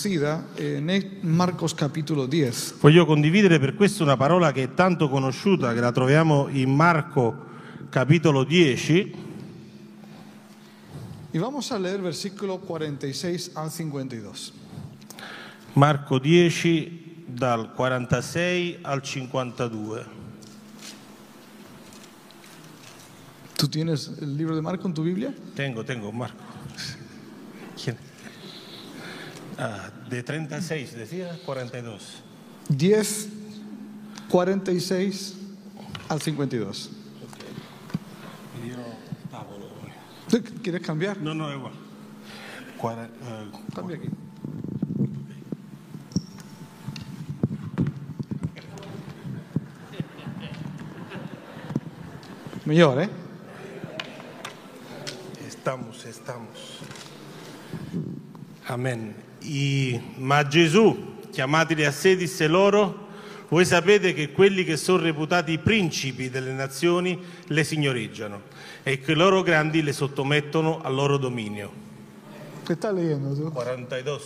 en Marcos capítulo 10. Voglio condividere per questo una parola che è tanto conosciuta, che la troviamo in Marco capitolo 10. Y vamos a leer versículo 46 al 52. Marco 10 dal 46 al 52. ¿Tú tienes el libro de Marco en tu Biblia? Tengo Marco. De 36, decía 42. 10, 46 al 52. ¿Quieres cambiar? No, igual. Cambia aquí. Mejor, ¿eh? Estamos. Amen. Ma Gesù, chiamateli a sé, disse loro: voi sapete che quelli che sono reputati principi delle nazioni le signoreggiano e che i loro grandi le sottomettono al loro dominio. ¿Qué estás leyendo tú? 42.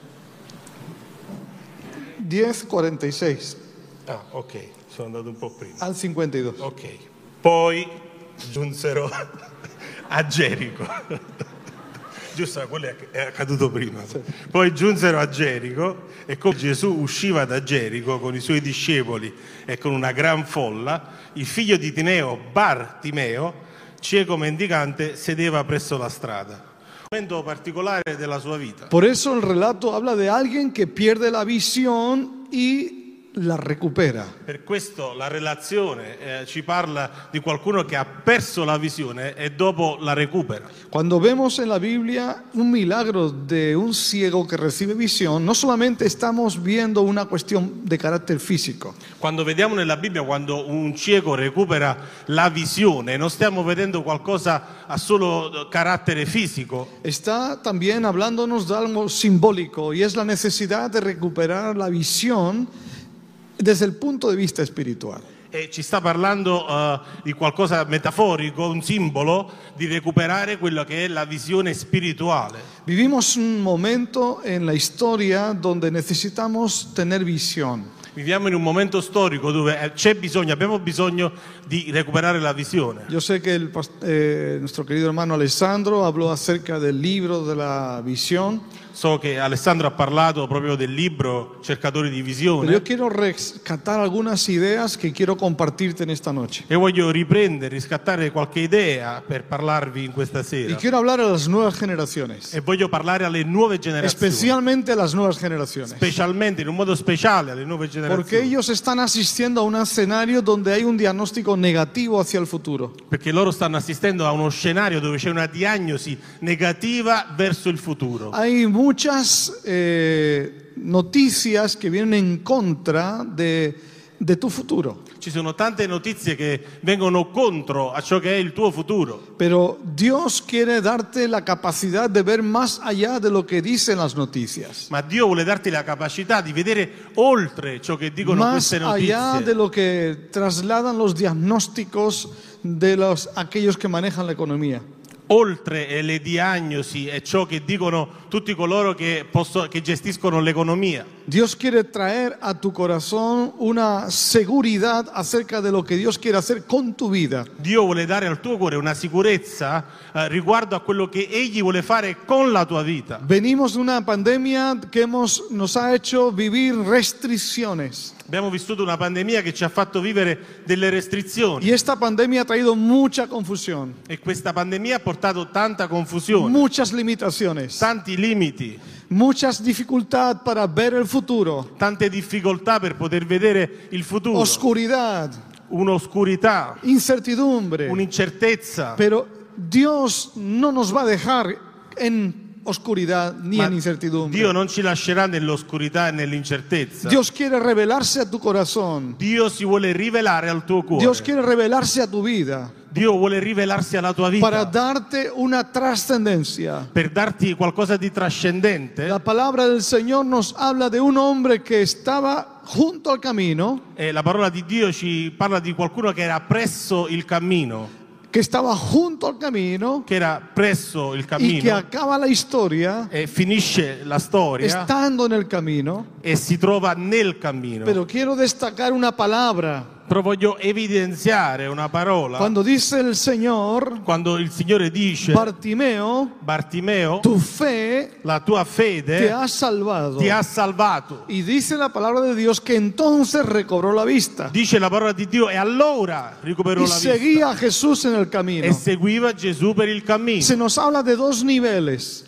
10, 46. Ah, ok, sono andato un po' prima. Al 52. Ok. Poi giunsero a Gerico. Giusto, quello è accaduto prima. Sì. Poi giunsero a Gerico e come Gesù usciva da Gerico con i suoi discepoli e con una gran folla, il figlio di Timeo, Bartimeo, cieco mendicante, sedeva presso la strada. Un momento particolare della sua vita. Por eso el relato habla de alguien que pierde la visión y la recupera. Per questo la relazione ci parla di qualcuno che ha perso la visione e dopo la recupera. Cuando vemos en la Biblia un milagro de un ciego que recibe visión, no solamente estamos viendo una cuestión de carácter físico. Quando vediamo nella Bibbia quando un cieco recupera la visione, non stiamo vedendo qualcosa a solo carattere fisico. Está también hablándonos de algo simbólico y es la necesidad de recuperar la visión desde el punto de vista espiritual. E ci sta parlando di qualcosa metaforico, un simbolo di recuperare quello che è la visione spirituale. Vivimos un momento en la historia donde necesitamos tener visión. Viviamo in un momento storico dove abbiamo bisogno di recuperare la visione. Yo sé que nuestro querido hermano Alessandro habló acerca del libro de la visión. So che Alessandro ha parlato proprio del libro Cercatori di Visione. Pero yo quiero rescatar algunas ideas que quiero compartirte en esta noche. E voglio riscattare qualche idea per parlarvi in questa sera. Y quiero hablar a las nuevas generaciones. E voglio parlare alle nuove generazioni. Especialmente a las nuevas generaciones. Specialmente, in un modo speciale, alle nuove generazioni. Porque ellos están asistiendo a un escenario donde hay un diagnóstico negativo hacia el futuro. Perché loro stanno assistendo a uno scenario dove c'è una diagnosi negativa verso il futuro. Hay muchas noticias que vienen en contra de tu futuro. Ci sono tante notizie che vengono contro a ciò che è il tuo futuro. Pero Dios quiere darte la capacidad de ver más allá de lo que dicen las noticias. Ma Dio vuole darti la capacità di vedere oltre ciò che dicono más queste notizie. Allá de lo que trasladan los diagnósticos de aquellos que manejan la economía. Oltre le diagnosi e ciò che dicono tutti coloro che gestiscono l'economia. Dios quiere traer a tu corazón una seguridad acerca de lo que Dios quiere hacer con tu vida. Dio vuole dare al tuo cuore una sicurezza riguardo a quello che Egli vuole fare con la tua vita. Venimos de una pandemia que nos ha hecho vivir restricciones. Abbiamo vissuto una pandemia che ci ha fatto vivere delle restrizioni. Y esta pandemia ha traído mucha confusión. E questa pandemia ha portato tanta confusione. Muchas limitaciones. Tanti limiti. Muchas dificultades para ver el futuro. Tante difficoltà per poter vedere il futuro. Oscuridad. Un'oscurità. Incertidumbre. Un'incertezza. Pero Dios no nos va a dejar en oscuridad ni en incertidumbre. Dio non ci lascerà nell'oscurità e nell'incertezza. Dios quiere revelarse a tu corazón. Dio si vuole rivelare al tuo cuore. Dios quiere revelarse a tu vida. Dio vuole rivelarsi alla tua vita. Para darte una trascendencia. Per darti qualcosa di trascendente. La palabra del Señor nos habla de un hombre que estaba junto al camino. La parola di Dio ci parla di qualcuno che era presso il cammino. que estaba junto al camino che era presso il y que cammino acaba la historia e finisce la storia estando en el camino. e si trova nel cammino. Pero quiero destacar una palabra. Però voglio evidenziare una parola. Cuando dice el Señor, Quando il Signore dice: Bartimeo, Bartimeo, tu fe la tua te fede ha salvado. ti ha salvato. Y dice la palabra de Dios que entonces recobró la vista Dice la parola di Dio, e allora recuperò y la vista seguía a Jesús en el e camino. seguiva Gesù per il cammino. Se nos habla de dos niveles,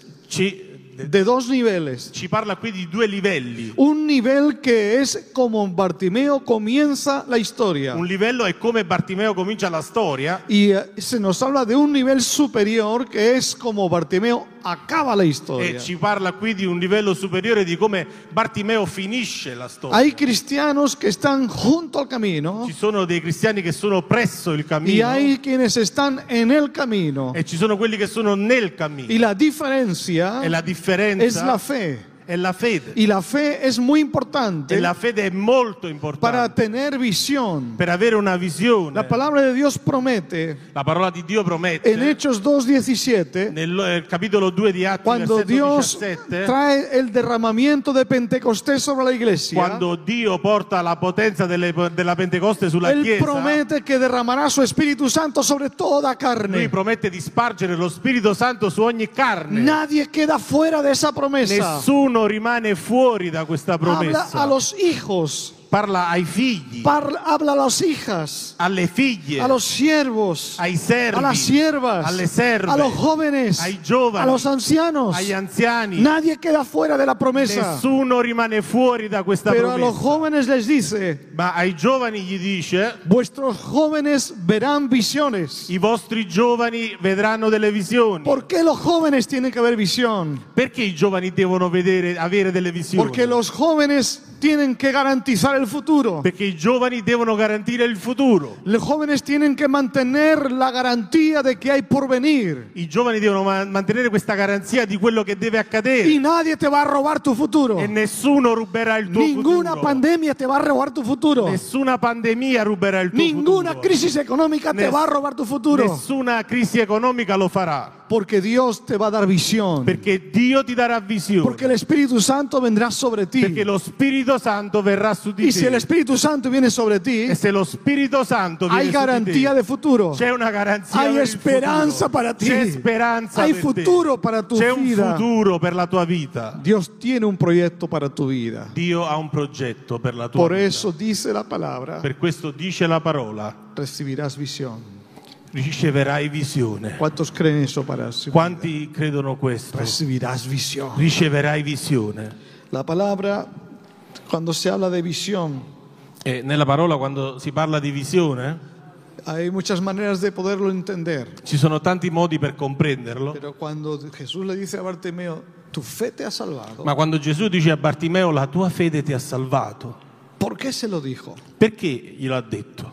Ci parla qui di due livelli. Un nivel que es como Bartimeo comienza la historia. Un livello è come Bartimeo comincia la storia, Y se nos habla de un nivel superior que es como Bartimeo acaba la historia. e ci parla qui di un livello superiore di come Bartimeo finisce la storia. Hay cristianos que están junto al camino Ci sono dei cristiani che sono presso il y cammino hay quienes están en el camino. e ci sono quelli che sono nel cammino. Y la diferencia E la es differenza la fe. è la fede. Y la fe es muy E importante la fede è molto para importante tener visión. per avere una visione. La palabra de Dios promete La parola di Dio en promette Hechos 2:17, nel capitolo 2 di Atti, cuando versetto Dios 17, trae el derramamiento de Pentecostés sobre la iglesia, quando Dio porta la potenza della Pentecoste sulla Él Chiesa, promete que derramará su Espíritu Santo sobre toda Lui carne. promette di spargere lo Spirito Santo su ogni carne. Nadie queda fuera de esa promesa. Nessuno rimane fuori da questa Habla promessa. a los hijos, Parla ai figli, habla a las hijas, alle figlie, a los siervos, ai servi, a las siervas, alle serve, a los jóvenes, ai giovani, a los ancianos. agli anziani. Nadie queda fuera de la promesa. Nessuno rimane fuori da questa Pero a los promessa. jóvenes les dice, Ma ai giovani gli dice: vuestros jóvenes verán visiones. i vostri giovani vedranno delle visioni. ¿Por qué los jóvenes tienen que ver visión? Perché i giovani devono avere delle visioni? Porque los jóvenes tienen que garantizar el futuro. Perché i giovani devono garantire il futuro. Los jóvenes tienen que mantener la garantía de que hay porvenir. I giovani devono mantenere questa garanzia di quello che deve accadere. Y nadie te va a robar tu futuro. E nessuno ruberà il tuo Ninguna futuro. pandemia te va a robar tu futuro. Nessuna pandemia ruberà il tuo Ninguna futuro. crisis económica te va a robar tu futuro. Nessuna crisi economica lo farà. Porque Dios te va a dar visión. Perché Dio ti darà visione. Porque el Espíritu Santo vendrá sobre ti. Perché lo Spirito Santo verrà su di Y si el te. Espíritu Santo viene sobre ti, E se lo Spirito Santo viene hay su garantía di de te, futuro. c'è una garanzia Hay per il esperanza futuro. para ti. C'è speranza Hay per futuro te. para tu C'è un vida. futuro per la tua vita. Dios tiene un proyecto para tu vida. Dio ha un progetto per la tua Por vita. eso dice la palabra, Per questo dice la parola: recibirás visión. riceverai visione. ¿Cuántos creen eso para su vida? Quanti credono questo? Recibirás visión. Riceverai visione. La palabra, cuando se habla de visión, E nella parola, quando si parla di visione, hay muchas maneras de poderlo entender. ci sono tanti modi per comprenderlo. Pero cuando Jesús le dice a Bartimeo, tu fe te ha salvado, Ma quando Gesù dice a Bartimeo: la tua fede ti ha salvato, ¿por qué se lo dijo? perché glielo ha detto?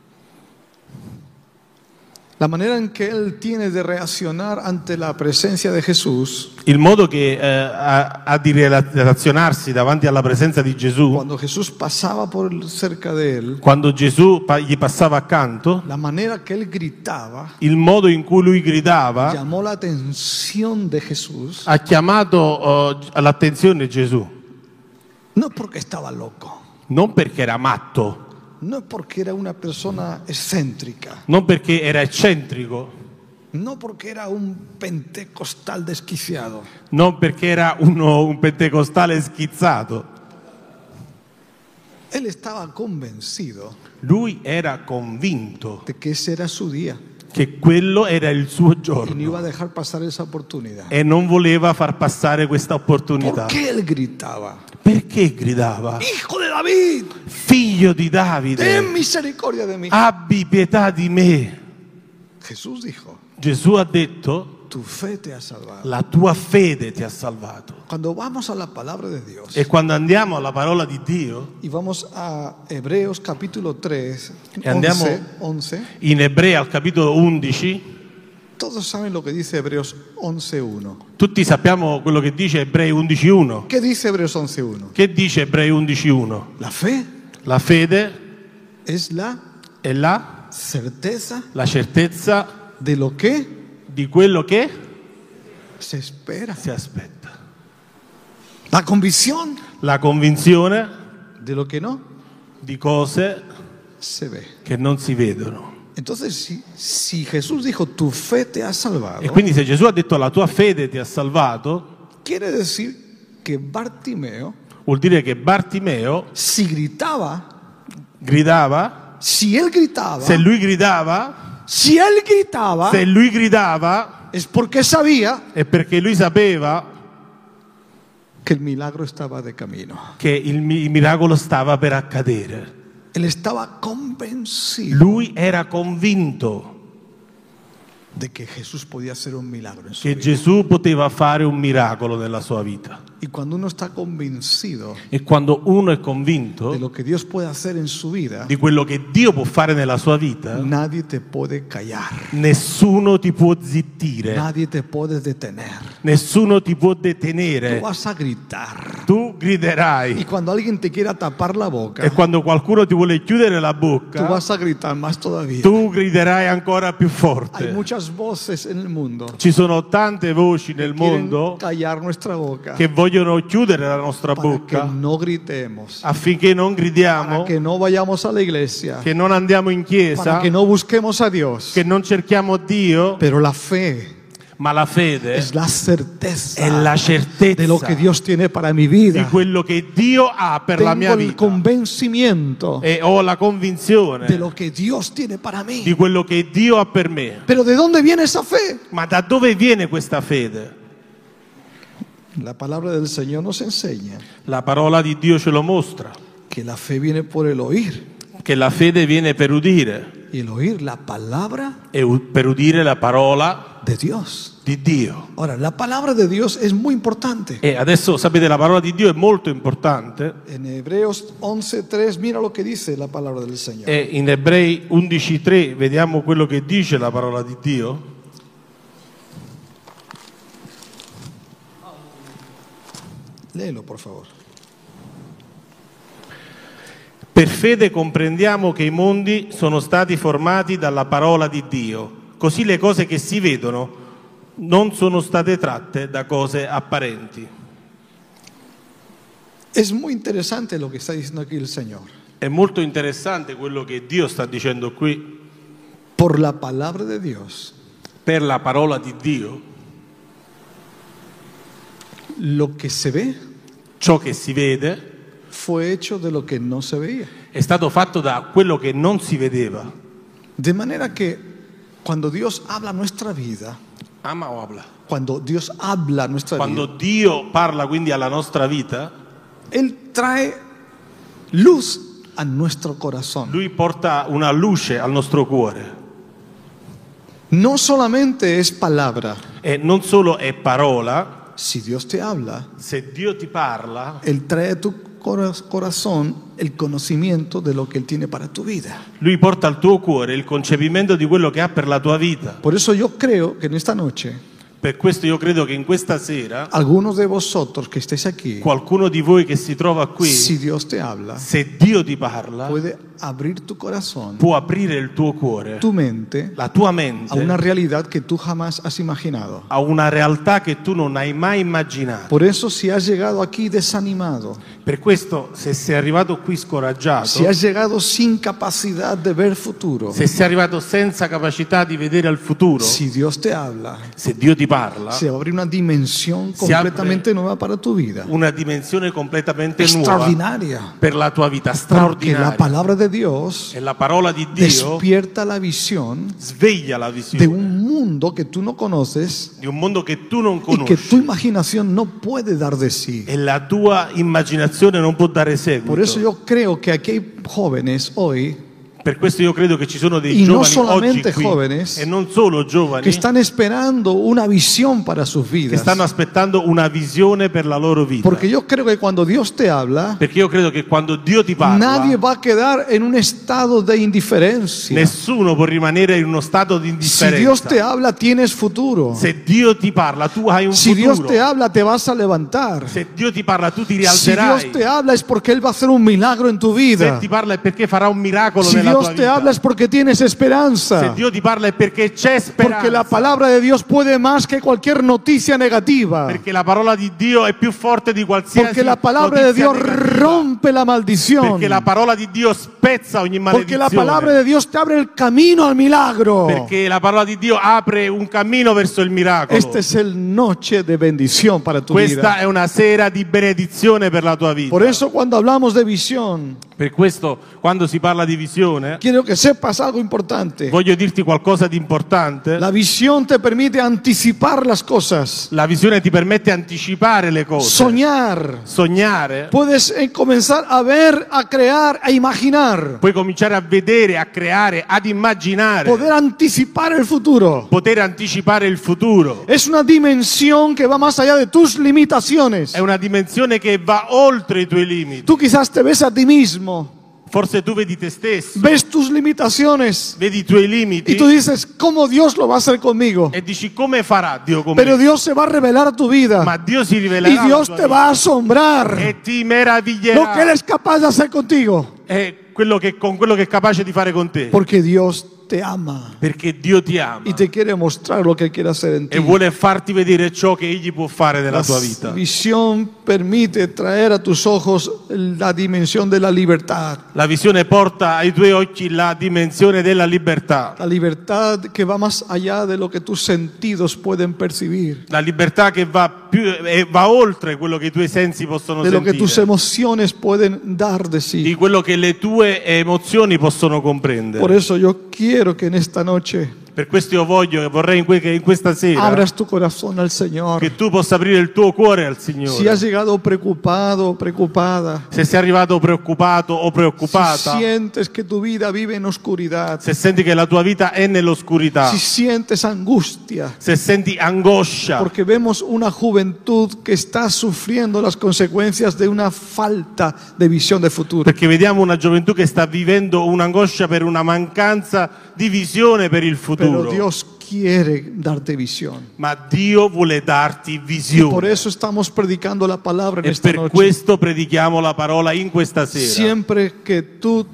La manera en que él tiene de reaccionar ante la presencia de Jesús, Il modo che ha di relazionarsi davanti alla presenza di Gesù, cuando Jesús pasaba por cerca de él, quando Gesù gli passava accanto, la manera que él gritaba il modo in cui lui gridava llamó la atención de Jesús, ha chiamato all'attenzione Gesù, no porque estaba loco, non perché era matto, no porque era una persona excéntrica, non perché era eccentrico, no porque era un pentecostal desquiciado. non perché era un pentecostale schizzato. Él estaba convencido Lui era convinto de que ese era su día che quello era il suo y no giorno iba a dejar pasar esa oportunidad. e non voleva far passare questa opportunità. ¿Por qué él gritaba? Perché gridava: Hijo de David, figlio di Davide, ten misericordia de mí. abbi pietà di me. Jesús dijo, Gesù ha detto: tu fe te ha salvado. la tua fede ti ha salvato. Cuando vamos a la palabra de Dios E quando andiamo alla parola di Dio, y vamos a Hebreos capítulo 3, E andiamo- 11, in Ebrei al capitolo 11, todos saben lo que dice Hebreos 11.1. tutti sappiamo quello che dice Ebrei 11.1. ¿Qué dice Hebreos 11.1? Che dice Ebrei 11.1? La fe La fede es la è la certeza certezza de lo que di quello che se espera. si aspetta. La convicción La convinzione de lo que no di cose se ve. che non si vedono. Entonces, si Jesús dijo, tu fe te ha salvado, E quindi se Gesù ha detto la tua fede ti ha salvato, quiere decir que Bartimeo, vuol dire che Bartimeo si gritaba, gridava, si él gritaba, se lui gridava, si él gritaba, se lui gridava es porque sabía è perché lui sapeva que el milagro estaba de camino. che il miracolo stava per accadere. Él estaba convencido Lui era convinto de que Jesús podía hacer un milagro en su che vida. Gesù poteva fare un miracolo nella sua vita. Y cuando uno está convencido E quando uno è de convinto lo que Dios puede hacer en su vida, di quello che Dio può fare nella sua vita, nadie te puede callar, nessuno ti può zittire, nadie te puede detener. nessuno ti può Tú detenere. vas a gritar. Tu Y griderai. cuando alguien te quiera tapar la boca, E quando qualcuno ti vuole chiudere la tú bocca, vas a gritar más todavía. tu griderai ancora più Hay forte. muchas voces en el mundo Ci sono tante voci nel que quieren mondo callar nuestra boca che vogliono chiudere la nostra para que bocca no gritemos, affinché non gridiamo, para que no vayamos a la iglesia, che non andiamo in para chiesa, que no busquemos a Dios. che non cerchiamo Dio, Pero la fe ma la fede es la certeza è la certezza de lo que Dios tiene para mi di vida. quello che Dio ha per la mia Tengo el vita. convencimiento E ho la convinzione de lo que Dios tiene para di mí. quello che Dio ha per me. Pero ¿de dónde viene esa fe? Ma da dove viene questa fede? La palabra del Señor nos enseña La parola di Dio ce lo mostra, que la fe viene por el oír, che la fede viene per udire, y el oír la palabra e per udire la parola de Dios. di Dio. Ahora, la palabra de Dios es muy importante. E adesso sapete, la parola di Dio è molto importante. En Hebreos 11:3, mira lo que dice la palabra del Señor. E in Ebrei 11:3 vediamo quello che dice la parola di Dio. Léelo, por favor. Per fede comprendiamo che i mondi sono stati formati dalla parola di Dio, così le cose che si vedono non sono state tratte da cose apparenti. Es muy interesante lo que está diciendo aquí el Señor. È molto interessante quello che Dio sta dicendo qui. Por la palabra de Dios, Per la parola di Dio, lo que se ve ciò che si vede fue hecho de lo que no se veía. è stato fatto da quello che non si vedeva. De manera que cuando Dios habla nuestra vida, Ama o habla? cuando Dios habla nuestra Quando vida, Dio parla quindi alla nostra vita, Él trae luz a nuestro corazón. Lui porta una luce al nostro cuore. No solamente es palabra. E non solo è parola, Si Dios te habla, se Dio ti parla, Él trae a tu corazón el conocimiento de lo que Él tiene para tu vida. Lui porta al tuo cuore il concepimento di quello che ha per la tua vita. Por eso yo creo que en esta noche, Per questo io credo che in questa sera, algunos de vosotros que estéis aquí, qualcuno di voi che si trova qui, si Dios te habla, se Dio ti parla, puede abrir tu corazón, può aprire il tuo cuore, tu mente, la tua a mente, una realidad que tú jamás has imaginado. a una realtà che tu non hai mai immaginato. Por eso, si has llegado aquí desanimado, Per questo, se sei arrivato qui scoraggiato, si has llegado sin capacidad de ver futuro, se sei arrivato senza capacità di vedere al futuro, si Dios te habla, se Dio ti parla, se abre una dimensión Si apre completamente nueva para tu vida, una dimensione completamente nuova extraordinaria, per la tua vita, porque straordinaria. la palabra de Dios E la parola di Dio despierta la visión sveglia la de visione un mundo que tú no conoces di un mondo che tu non y que tu conosci imaginación no puede dar de sí. e la tua immaginazione non può dare Por eso seguito. yo creo que aquí hay jóvenes hoy Per questo io credo che ci sono dei Y no giovani solamente oggi qui, jóvenes, e non solo giovani, que están esperando una visión para sus che vidas. stanno aspettando una visione per la loro vita. Porque yo creo que cuando Dios te habla, Perché io credo che quando Dio ti parla, nadie va a quedar en un estado de indiferencia. nessuno può rimanere in uno stato di Si Dios te indifferenza. habla, tienes futuro. Se Dio ti parla, tu hai un Si Dios futuro. te habla, te vas a levantar. Se Dio ti parla, tu ti Si rialzerai. Dios te habla, es porque Él va a hacer un milagro en tu Se vida. ti parla è perché farà un miracolo Si nella tua Dios te vita. habla es porque tienes Se esperanza. Dio ti parla è perché c'è Porque la speranza. palabra de Dios puede más que cualquier noticia negativa. Perché la parola di Dio è più forte di qualsiasi Porque la palabra de notizia Dios negativa. rompe la maldición. Perché la parola di Dio spezza ogni Porque la maledizione. palabra de Dios te abre el camino al milagro. Perché la parola di Dio apre un cammino verso il miracolo. Esta es el noche de bendición para tu Questa vida. è una sera di benedizione per la tua vita. Por eso cuando hablamos de visión, Per questo, quando si parla di visione, quiero que sepas algo importante. voglio dirti qualcosa di importante. La visión te permite anticipar las cosas, La visione ti permette di anticipare le cose, soñar. sognare. Puedes comenzar a ver, a crear, a imaginar. Puoi cominciare a vedere, a creare, ad immaginare, Poder anticipar el futuro. poter anticipare il futuro. Es una dimensión que va más allá de tus limitaciones. È una dimensione che va oltre i tuoi limiti. Tú quizás te ves a ti mismo, Forse tu vedi te stesso, ves tus limitaciones vedi i tuoi y limiti tú dices, ¿cómo Dios lo va a hacer conmigo? e dici come farà Dio con Pero me? Dios se va a revelar a tu vida Ma Dio si y rivelerà alla Dios tua te vita va a asombrar e ti lo que Él meraviglierà. es capaz de hacer contigo. È quello che, con quello che è capace di fare con te. Porque Dios te ama Perché Dio ti ama y te quiere mostrar lo que Él quiere hacer en ti. e vuole farti vedere ciò che Egli può fare nella tua La vita. visión permite traer a tus ojos la dimensión de la libertad. La visione porta ai tuoi occhi la dimensione della libertà. La libertad que va más allá de lo que tus sentidos pueden percibir, La libertà che va oltre quello che i tuoi sensi possono de lo que tus sentire, emociones pueden dar de di sí. quello che le tue emozioni possono comprendere. Por eso yo quiero que en esta noche Per questo io vorrei che in questa sera abras tu corazón al Señor. che tu possa aprire il tuo cuore al Si Signore. has llegado preocupado o preocupada, Se sei arrivato preoccupato o si preoccupata, sientes que tu vida vive en oscuridad, se senti che la tua vita è nell'oscurità, si sientes angustia, se senti angoscia, porque vemos una juventud que está sufriendo las consecuencias de una falta de visión de futuro. perché vediamo una gioventù che sta vivendo un'angoscia per una mancanza di visione per il futuro. Pero Dios quiere darte visión. Ma Dio vuole darti Y por visione. eso estamos predicando la palabra en E esta per noche. questo predichiamo la parola in questa sera. Siempre que tú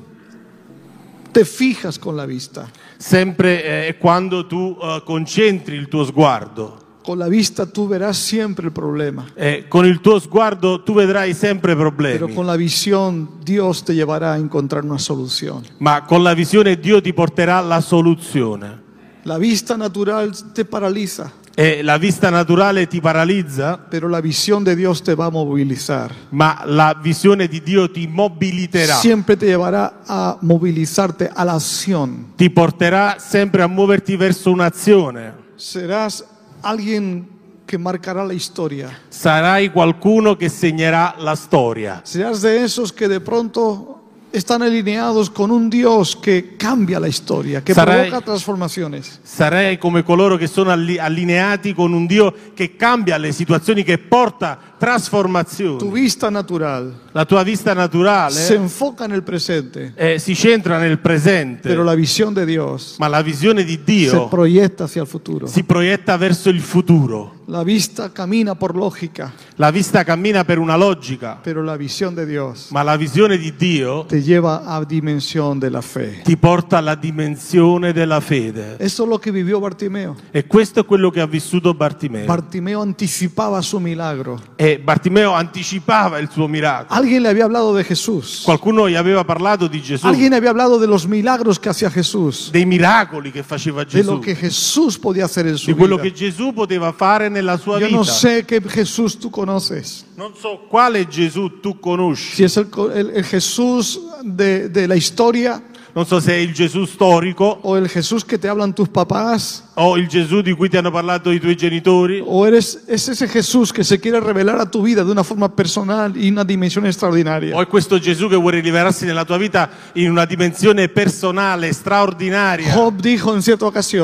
te fijas con la vista, Sempre quando tu concentri il tuo sguardo. con la vista tú verás siempre el problema. Con il tuo sguardo tu vedrai sempre Pero problemi, con la visión Dios te llevará a encontrar una solución. ma con la visione Dio ti porterà la soluzione. La vista natural te paraliza, E la vista naturale ti paralizza, pero la visión de Dios te va a movilizar. ma la visione di Dio ti mobiliterà, Siempre te llevará a movilizarte a la acción. ti porterà sempre a muoverti verso un'azione. Serás alguien que marcará la historia. Sarai qualcuno che segnerà la storia. Serás de esos que de pronto están alineados con un Dios que cambia la historia, que Sarai- provoca transformaciones. Sarai come coloro che sono allineati con un Dio che cambia le situazioni, che porta Tu trasformazioni. vista natural La tua vista se naturale enfoca en el presente, si centra nel presente, pero la visión de Dios ma la visione di se Dio proyecta hacia el futuro. si proietta verso il futuro. La vista camina por lógica, La vista cammina per una logica, pero la visión de Dios ma la visione di Dio te lleva a dimensión de la fe. ti porta alla dimensione della fede. Eso es lo que vivió Bartimeo. E questo è quello che ha vissuto Bartimeo. Bartimeo anticipaba su milagro. E Bartimeo anticipava il suo miracolo. Alguien le había hablado de Jesús. Qualcuno gli aveva parlato di Gesù, Alguien le había hablado de los milagros que hacía Jesús, dei miracoli che faceva de lo Gesù, que Jesús podía hacer en su di quello vida. che Gesù poteva fare nella sua Yo vita. no sé qué Jesús tú conoces. Non so quale Gesù tu conosci, Si es el Jesús de la historia non so se è il Gesù storico o el Jesús que te hablan tus papás o il Gesù di cui ti hanno parlato i tuoi genitori, o es ese Jesús que se quiere revelar a tu vida de una forma personal y una dimensión extraordinaria. o è questo Gesù che vuole rivelarsi nella tua vita in una dimensione personale, straordinaria. Job dijo en cierta ocasión,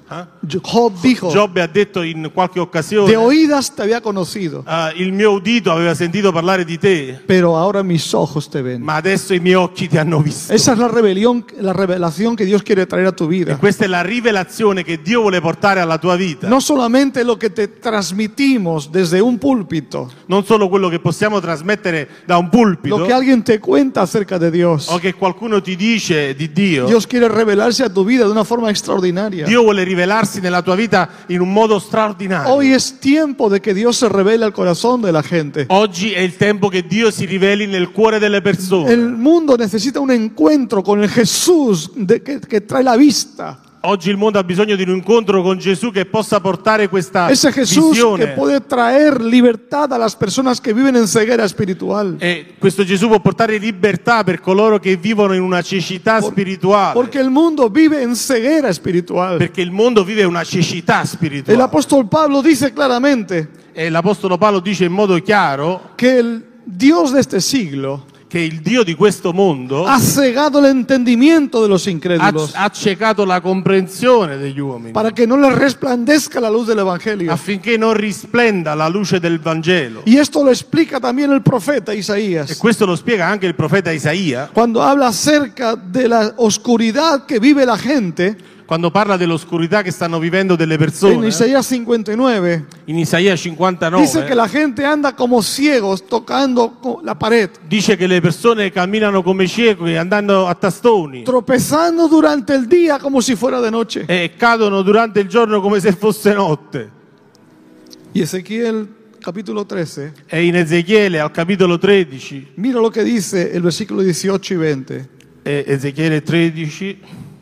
Job dijo, Giobbe ha detto in qualche occasione, de oídas te había conocido, il mio udito aveva sentito parlare di te, pero ahora mis ojos te ven. ma adesso i miei occhi ti hanno visto. Esa es la revelación que Dios quiere traer a tu E vida. questa è la rivelazione che Dio vuole portare alla tua vita. No solamente lo que te transmitimos desde un púlpito, Non solo quello che possiamo trasmettere da un pulpito, lo que alguien te cuenta acerca de Dios. o che qualcuno ti dice di Dio. Dios quiere revelarse a tu vida de una forma extraordinaria. Dio vuole rivelarsi nella tua vita in un modo straordinario. Hoy es tiempo de que Dios se revele al corazón de la gente. Oggi è il tempo che Dio si riveli nel cuore delle persone. El mundo necesita un encuentro con el Jesús que trae la vista. Oggi il mondo ha bisogno di un incontro con Gesù che possa portare questa Ese Jesús que visione. puede traer libertad a las personas que viven en ceguera espiritual. E questo Gesù può portare libertà per coloro che vivono in una cecità spirituale. Porque el mundo vive en ceguera espiritual. Perché il mondo vive una cecità El spirituale. apóstol Pablo dice claramente E l'Apostolo Paolo dice in modo chiaro que el Dios de este siglo che il Dio di questo mondo ha cegado el entendimiento de los incrédulos ha ciecato la comprensione degli uomini para que no les resplandezca la luz del Evangelio. affinché non risplenda la luce del Vangelo. Y esto lo explica también el profeta E Isaías questo lo spiega anche il profeta Isaia cuando habla acerca de la oscuridad que vive la gente quando parla dell'oscurità che stanno vivendo delle en persone. Isaías 59. In Isaia 59 Dice que la gente anda como ciegos tocando la pared, dice che le persone camminano come ciechi andando a tastoni tropezando durante el día como si fuera de noche. e cadono durante il giorno come se fosse notte. Y Ezequiel capítulo 13, E in Ezechiele al capitolo 13, mira lo que dice el versículo 18 y 20. Ezechiele 13,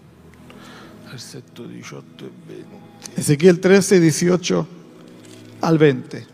versetto 18 e 20. Ezequiel 13, 18 al 20.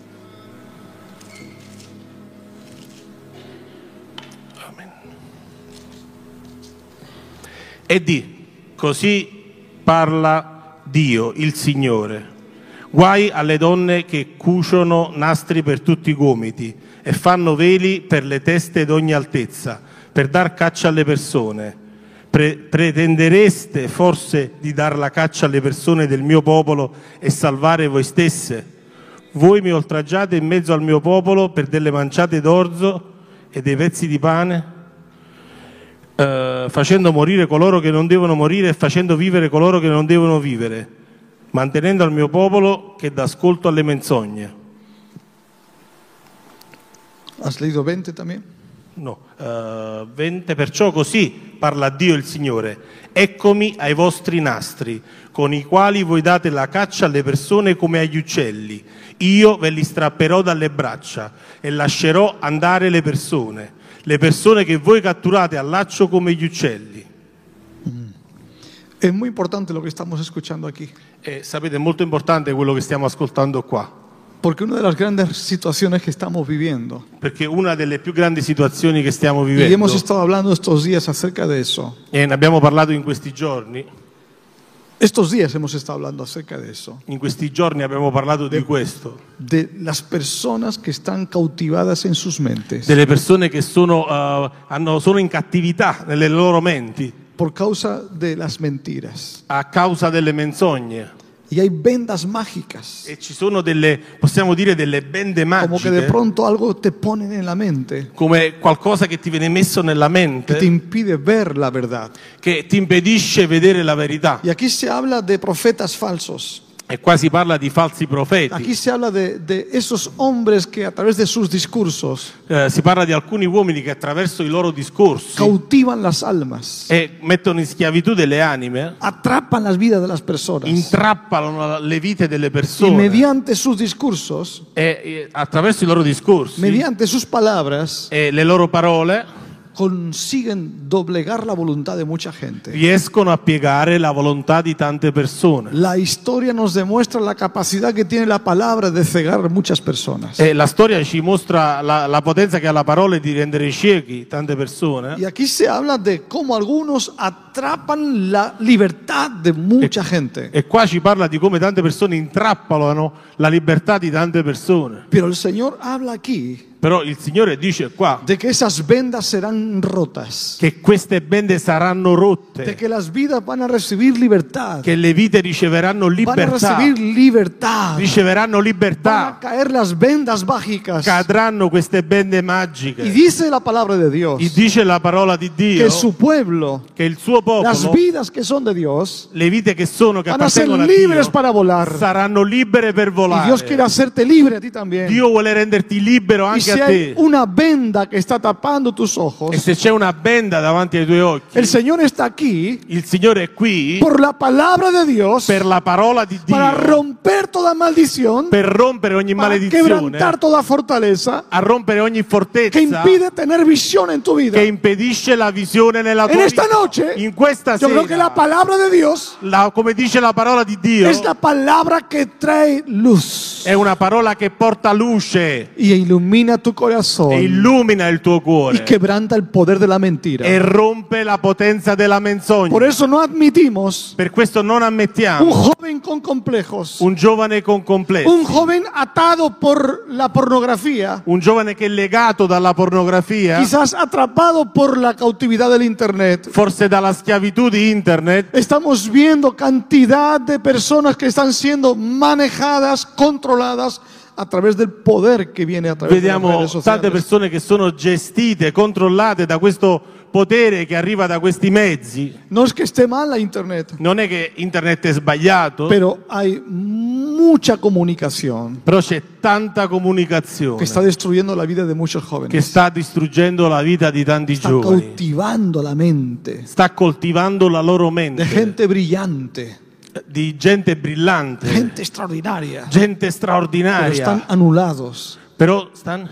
E di, così parla Dio, il Signore. Guai alle donne che cuciono nastri per tutti i gomiti e fanno veli per le teste d'ogni altezza, per dar caccia alle persone. Pretendereste forse di dar la caccia alle persone del mio popolo e salvare voi stesse? Voi mi oltraggiate in mezzo al mio popolo per delle manciate d'orzo e dei pezzi di pane? Facendo morire coloro che non devono morire e facendo vivere coloro che non devono vivere, mantenendo al mio popolo che dà ascolto alle menzogne. ¿Has leído 20 también? No, 20, perciò così parla Dio il Signore, eccomi ai vostri nastri, con i quali voi date la caccia alle persone come agli uccelli, io ve li strapperò dalle braccia e lascerò andare le persone che voi catturate al laccio come gli uccelli. Es muy importante lo que estamos escuchando aquí, E sapete, è molto importante quello che stiamo ascoltando qua, porque una de las grandes situaciones que estamos viviendo, perché una delle più grandi situazioni che stiamo y vivendo, hemos estado hablando estos días acerca de eso, e ne abbiamo parlato in questi giorni, estos días hemos estado hablando acerca de eso, in questi giorni abbiamo parlato di questo, de las personas que están cautivadas en sus mentes delle persone che sono in cattività nelle loro menti por causa de las mentiras. a causa delle menzogne. Y hay vendas mágicas, E ci sono delle, possiamo dire, delle bende como que de magiche, pronto algo te ponen en la mente come qualcosa che ti viene messo nella que mente, te impide ver la verdad. che ti impedisce vedere la verità. Y aquí se habla de profetas falsos. E qua si parla di falsi profeti, Aquí se habla de esos hombres que a través de sus discursos si parla di alcuni uomini che attraverso i loro discorsi cautivan las almas, e mettono in schiavitù delle anime, atrapan las vidas de las personas intrappolano le vite delle y persone mediante sus discursos, e attraverso i loro discorsi mediante sus palabras, e le loro parole consiguen doblegar la voluntad de mucha gente. riescono a piegare la volontà di tante persone. La historia nos demuestra la capacidad que tiene la palabra de cegar muchas personas. E la storia ci mostra la potenza che ha la parola di rendere ciechi tante persone. Y aquí se habla de cómo algunos atrapan la libertad de mucha gente. E qua ci parla di come tante persone intrappolano la libertà di tante persone. Pero el Señor habla aquí Però il Signore dice qua de que esas vendas serán rotas, che queste bende saranno de rotte, que las vidas van a recibir libertad, che le vite riceveranno van a libertà, recibir libertad, riceveranno van a libertà, caer las vendas mágicas. cadranno queste bende Y magiche. dice la palabra de Dios E dice la parola di Dio que su pueblo, che il suo las popolo, vidas que son de Dios, le vite che sono, che van a ser appartengono a libres Dio, para volar. saranno libere per Y Dios quiere volare. hacerte libre a ti también. Dio vuole renderti libero Y anche si a hay te. una venda que está tapando tus E ojos, se c'è una benda davanti ai tuoi occhi, el Señor está aquí il Signore è qui por la palabra de Dios per la parola di para Dio, romper toda maldición, per rompere ogni para maledizione, quebrantar toda fortaleza a rompere ogni que fortezza impide tener visión en tu vida. che impedisce la visione nella En tua esta vita. noche, In questa yo creo que la sera, palabra de Dios come dice la parola di Dio, es la palabra que trae luz è una parola che porta luce y ilumina tu e corazón illumina il tuo y cuore quebranta el poder de la mentira. e rompe la potenza della menzogna. Por eso no admitimos Per questo non un ammettiamo joven con complejos, un giovane con complessi, un joven atado por la pornografía, un giovane che è legato dalla pornografia, quizás atrapado por la cautividad del Internet. forse dalla schiavitù di internet. Estamos viendo cantidad de personas que están siendo manejadas, controladas a través del poder que viene a través de las Vediamo redes tante sociales. persone che sono gestite, controllate da questo potere che arriva da questi mezzi. No es que esté mal la Internet, Non è che internet è sbagliato, pero hay mucha comunicación però c'è tanta comunicazione que está destruyendo la vida de muchos che jóvenes. sta distruggendo la vita di tanti Está giovani, cautivando la mente sta coltivando la loro de mente, gente brillante, di gente brillante, gente extraordinaria, gente pero straordinaria, están anulados, però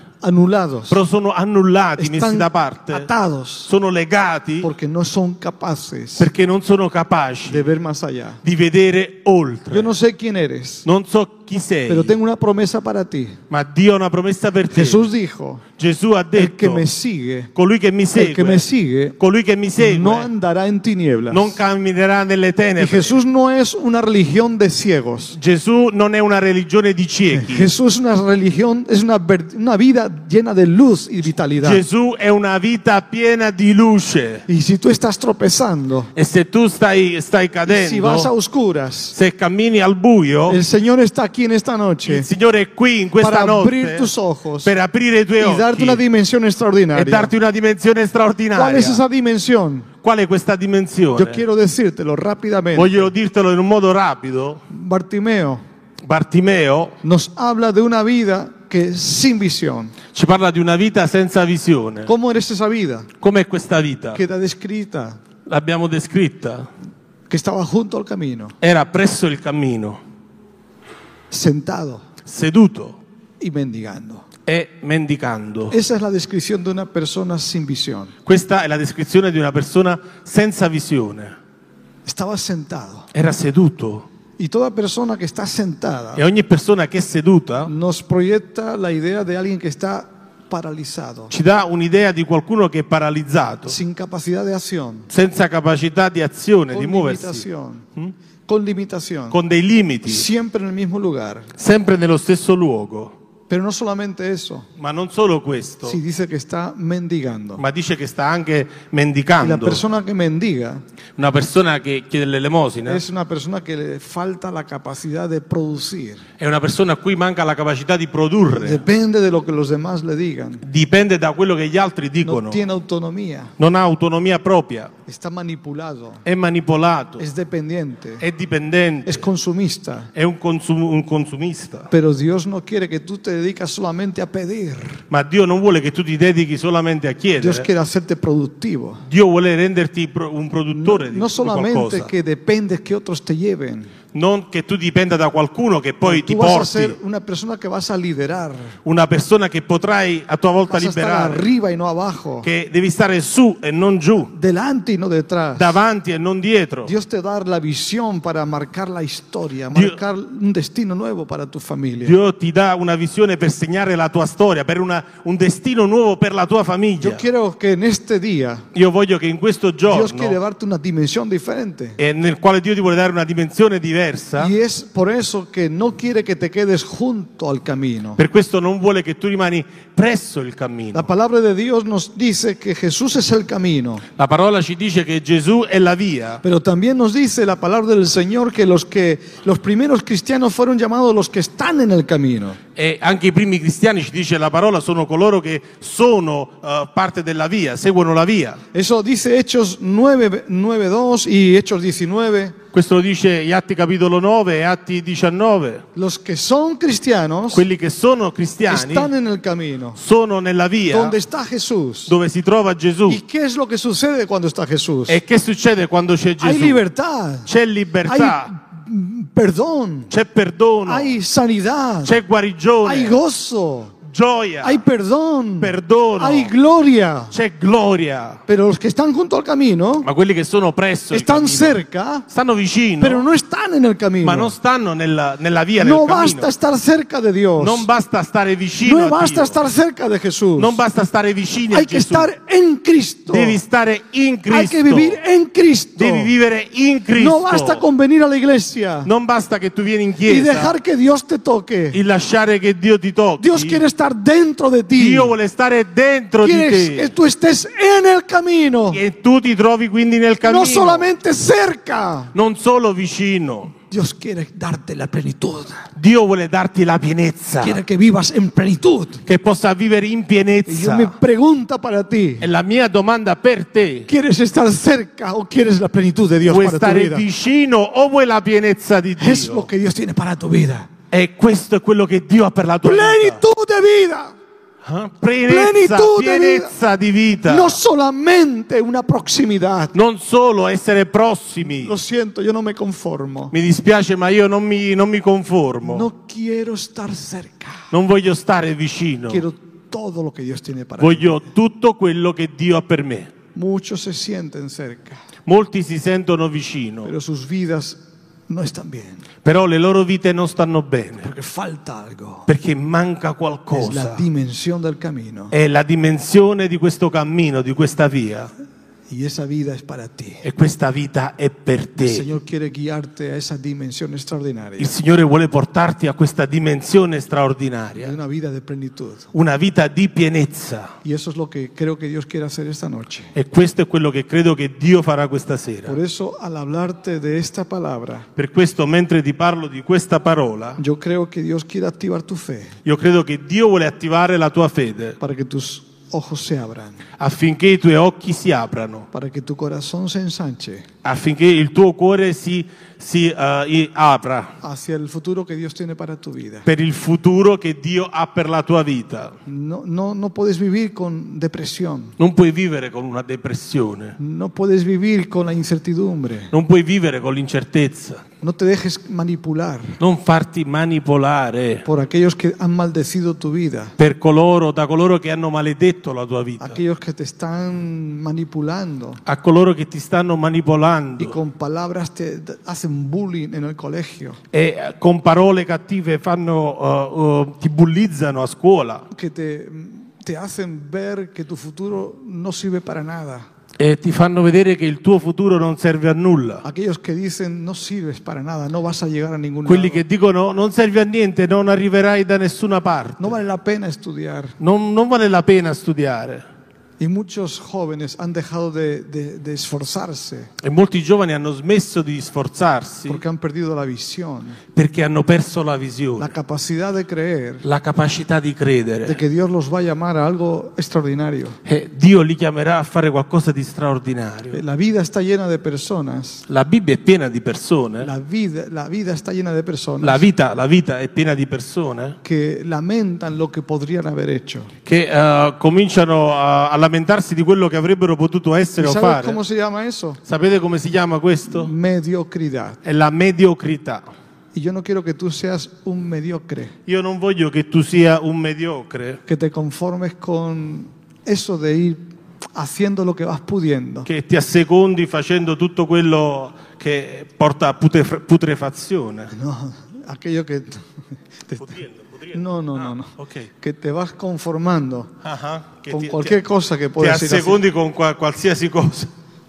sono annullati, messi están da parte, atados sono legati porque no son capaces perché non sono capaci de ver más allá. di vedere oltre. Yo no sé quién eres, Non so chi sei, pero tengo una promesa para ti. ma Dio ha una promessa per te. Jesús dijo, Gesù ha el que detto, me sigue, colui che mi el que me segue, sigue, colui che mi segue, no andará en tinieblas. non camminerà nelle Y tenebre. Jesús no es una religión de ciegos. Gesù non è una religione di ciechi. Jesús es una religión, es una vida llena de luz y vitalidad. Gesù è una vita piena di luce. Y si tú estás tropezando, E se tu stai si vas a cadendo, oscuras, se cammini al buio, el Señor está aquí en esta noche il Signore è qui in questa para abrir notte tus ojos per aprire i tuoi y darte una occhi dimensión e extraordinaria. darti una dimensione ¿Cuál straordinaria. es esa dimensión? Qual è questa dimensione? Yo quiero decírtelo rápidamente. Voglio dirtelo in un modo rapido. Bartimeo Bartimeo nos habla de una vida que es sin visión. ci parla di una vita senza visione. ¿Cómo eres esa vida? Com'è questa vita? Queda descrita, L'abbiamo descritta. que estaba junto al camino, Era presso il cammino, sentado seduto y mendigando. e mendicando. Esa es la descripción de una persona sin visión. Questa è la descrizione di una persona senza visione. Estaba sentado. Era seduto. Y toda persona que está sentada E ogni persona che è seduta nos proyecta la idea de alguien que está paralizado, ci dà un'idea di qualcuno che è paralizzato, sin capacidad de acción, senza capacità di azione, di con muoversi, limitación, con limitación, con dei limiti, siempre en el mismo lugar. sempre nello stesso luogo. Pero no solamente eso, Ma non solo questo, si dice que está mendigando. ma dice che sta anche Y la mendicando. persona que mendiga Una persona che chiede l'elemosina es una persona que le falta la capacidad de producir. è una persona a cui manca la capacità di produrre. Depende de lo que los demás le digan. Dipende da quello che gli altri No dicono. tiene autonomía. Non ha autonomia propria, Está manipulado. è manipolato, Es dependiente. è dipendente, Es consumista. è un consumista. Pero Dios no quiere que tú te dedicas solamente a pedir. Ma Dio non vuole che tu ti dedichi solamente a Dios chiedere. quiere hacerte productivo. Dio vuole renderti un produttore No di solamente qualcosa. que dependes que otros te lleven. Non che tu dipenda da qualcuno che poi ti Tú vas a porti, ser una persona que vas a liderar. una persona che potrai a tua volta Vas a estar liberare, arriba y no abajo. che devi stare su e non giù, Delante y no detrás. davanti e non dietro. Dios te da la visión para marcar la historia, Dio- marcar un destino nuevo para tu familia. Dio ti dà una visione unzione per segnare la tua storia, per un destino nuovo per la tua Yo famiglia. quiero que en este día Io voglio che in questo Dios quiere giorno, darte una dimensión diferente. nel quale Dio ti vuole dare una dimensione diversa, Y es por eso que no quiere que te quedes junto al camino. per questo non vuole che tu rimani presso il La cammino. palabra de Dios nos dice que Jesús es el camino, La parola ci dice che Gesù è la via, pero también nos dice la palabra del Señor que los primeros cristianos fueron llamados los que están en el camino. e anche i primi cristiani, ci dice la parola, sono coloro che sono parte della via, seguono la via. Eso dice Hechos 9:2 y Hechos 19. Questo lo dice gli Atti capitolo 9 e Atti 19. Los que son cristianos Quelli che sono cristiani están en el camino, sono nella via donde está Jesús. dove si trova Gesù. ¿Y qué es lo que sucede cuando está Jesús? E che succede quando c'è Hay Gesù? libertad, C'è hay libertà, perdón, c'è perdono, hay sanidad, c'è hay guarigione, gozo, gioia, hay perdón, perdono, hay gloria. c'è gloria. Pero los que están junto al camino Ma quelli che sono presso il están cammino cerca, stanno vicino, pero no están en el ma camino. non stanno nella via, No nel cammino. basta estar cerca de Dios, Non basta stare vicino no a basta Dio. estar cerca de Jesús. Non basta stare vicini a Hay que Gesù. estar en Cristo, Devi stare in Cristo. hay que vivir en Cristo. Devi vivere in Cristo. No basta con venir a la iglesia Non basta che tu vieni in y chiesa dejar que Dios te toque. e lasciare che Dio ti tocchi. Dios quiere estar dentro de ti. Dio vuole stare dentro di Quiere que te. tú estés en el camino, E tu ti trovi quindi nel cammino. no solamente cerca. Non solo vicino. Dios quiere darte la plenitud. Dio vuole darti la pienezza. Quiere que vivas en plenitud. Che possa vivere in Y yo pienezza. mi pregunta para ti, E la mia domanda per te: ¿quieres estar cerca o quieres la plenitud de Dios vuoi para tu stare vida? vicino o vuoi la pienezza di Es Dio? lo que Dios tiene para tu vida. E questo è quello che Dio ha per la tua vita. Plenitud de vida. Pienezza, Plenitud de pienezza di vita. No solamente una proximidad. Non solo essere prossimi. Lo siento, yo no me conformo. Mi dispiace, ma io non mi conformo. No quiero estar cerca. Non voglio stare vicino. Quiero todo lo que Dios tiene para mí. Voglio tutto quello che Dio ha per me. Muchos se sienten cerca, Molti si sentono vicino, pero sus vidas no están bien, però le loro vite non stanno bene, porque falta algo. perché manca Es la qualcosa. dimensión del camino È la dimensione di questo cammino, di questa via. y esa vida es para ti. E questa vita è per El te. Señor quiere guiarte a esa dimensión extraordinaria Il Signore vuole portarti a questa dimensione de straordinaria, una vida de plenitud. una vita di pienezza. Y eso es lo que creo que Dios quiere hacer esta noche. E questo è quello che credo che Dio farà questa sera. Por eso, al hablarte de esta palabra, Per questo, mentre ti parlo di questa parola, yo creo que Dios quiere activar tu fe io credo che Dio vuole attivare la tua fede para que tus ojos se abran, affinché i tuoi occhi si aprano, para que tu corazón se ensanche affinché il tuo cuore si apra hacia el futuro que Dios tiene para tu vida. per il futuro che Dio ha per la tua vita. No puedes vivir con depresión, Non puoi vivere con una depressione, no puedes vivir con la incertidumbre, non puoi vivere con l'incertezza, no te dejes manipular non farti manipolare por aquellos que han maldecido tu vida, da coloro che hanno maledetto la tua vita, aquellos que te están manipulando a coloro che ti stanno y manipolando con palabras te hacen bullying en el colegio, e con parole cattive ti bullizzano a scuola que te hacen ver que tu futuro no sirve para nada. e ti fanno vedere che il tuo futuro non serve a nulla. Aquellos que dicen no sirves para nada, no vas a llegar a ningún Quelli lado. che dicono non serve a niente, non arriverai da nessuna parte, No vale la pena estudiar. non vale la pena studiare. Y muchos jóvenes han dejado de esforzarse E molti giovani hanno smesso di sforzarsi porque han perdido la visión, perché hanno perso la la visione, capacidad de creer la capacità di de credere. que Dios los va a llamar a algo extraordinario. E Dio li chiamerà a fare qualcosa di straordinario. La vida está llena de personas. La Bibbia è piena di persone, La vida está llena de personas la vita è piena di persone que lamentan lo que podrían haber hecho. che cominciano a lamentarsi di quello che avrebbero potuto essere ¿Y o sabes fare. cómo se llama eso? Sapete come si chiama questo? Mediocridad. È la mediocrità. Y yo no quiero que tú seas un mediocre, Io non voglio che tu sia un mediocre, que te conformes con eso de ir haciendo lo que vas pudiendo. che ti assecondi facendo tutto quello che porta a putrefazione. No, aquello que No, no, no, no. Ok. Que te vas conformando Che con cualquier cosa que ti puedas ir haciendo. assecondi con qualsiasi cosa.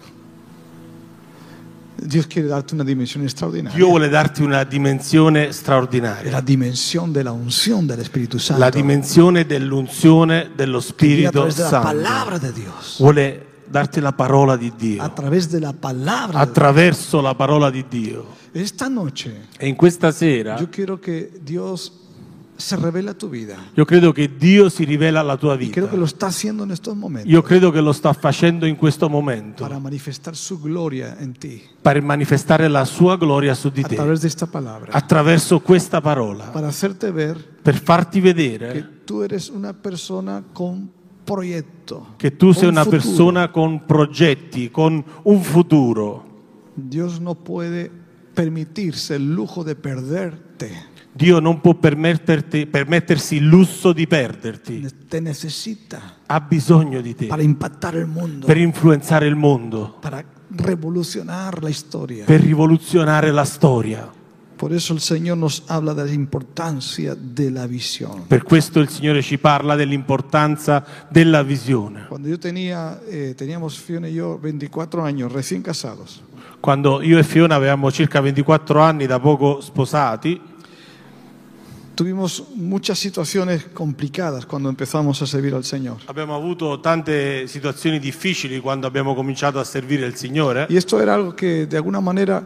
Dios quiere darte una dimensión extraordinaria. Dio vuole darti una dimensione straordinaria. La dimensión de la unción del Espíritu Santo. La dimensione dell'unzione dello Que viene a Spirito través de la Santo. palabra de Dios. Vuole darti la parola di Dio. A través de la palabra de Dios. Attraverso la parola di Dio. Esta noche E in questa sera yo quiero que Dios se revele a tu vida. io credo che Dio si rivela alla tua Y vita. creo que lo está haciendo en estos momentos. Io credo che lo sta facendo in questo momento Para manifestar su gloria en ti. per manifestare la sua gloria su di A te. través de esta palabra. Attraverso questa parola. Para hacerte ver Per farti que vedere tú eres una persona con proyecto. che tu sei con una futuro. persona con progetti, con un futuro. Dios no puede permitirse el lujo de perderte. Dio non può permettersi il lusso di perderti. Te necesita Ha bisogno di te para impactar el mundo, per influenzare il mondo, para revolucionar la historia. per rivoluzionare la storia. Por eso el Señor nos habla de la importancia de la visión. Per questo il Signore ci parla dell'importanza della visione. Cuando yo teníamos Fiona y yo 24 años, recién casados, Quando io e Fiona avevamo circa 24 anni, da poco sposati, tuvimos muchas situaciones complicadas cuando empezamos a servir al Señor. abbiamo avuto tante situazioni difficili quando abbiamo cominciato a servire il Signore. Y esto era algo que de alguna manera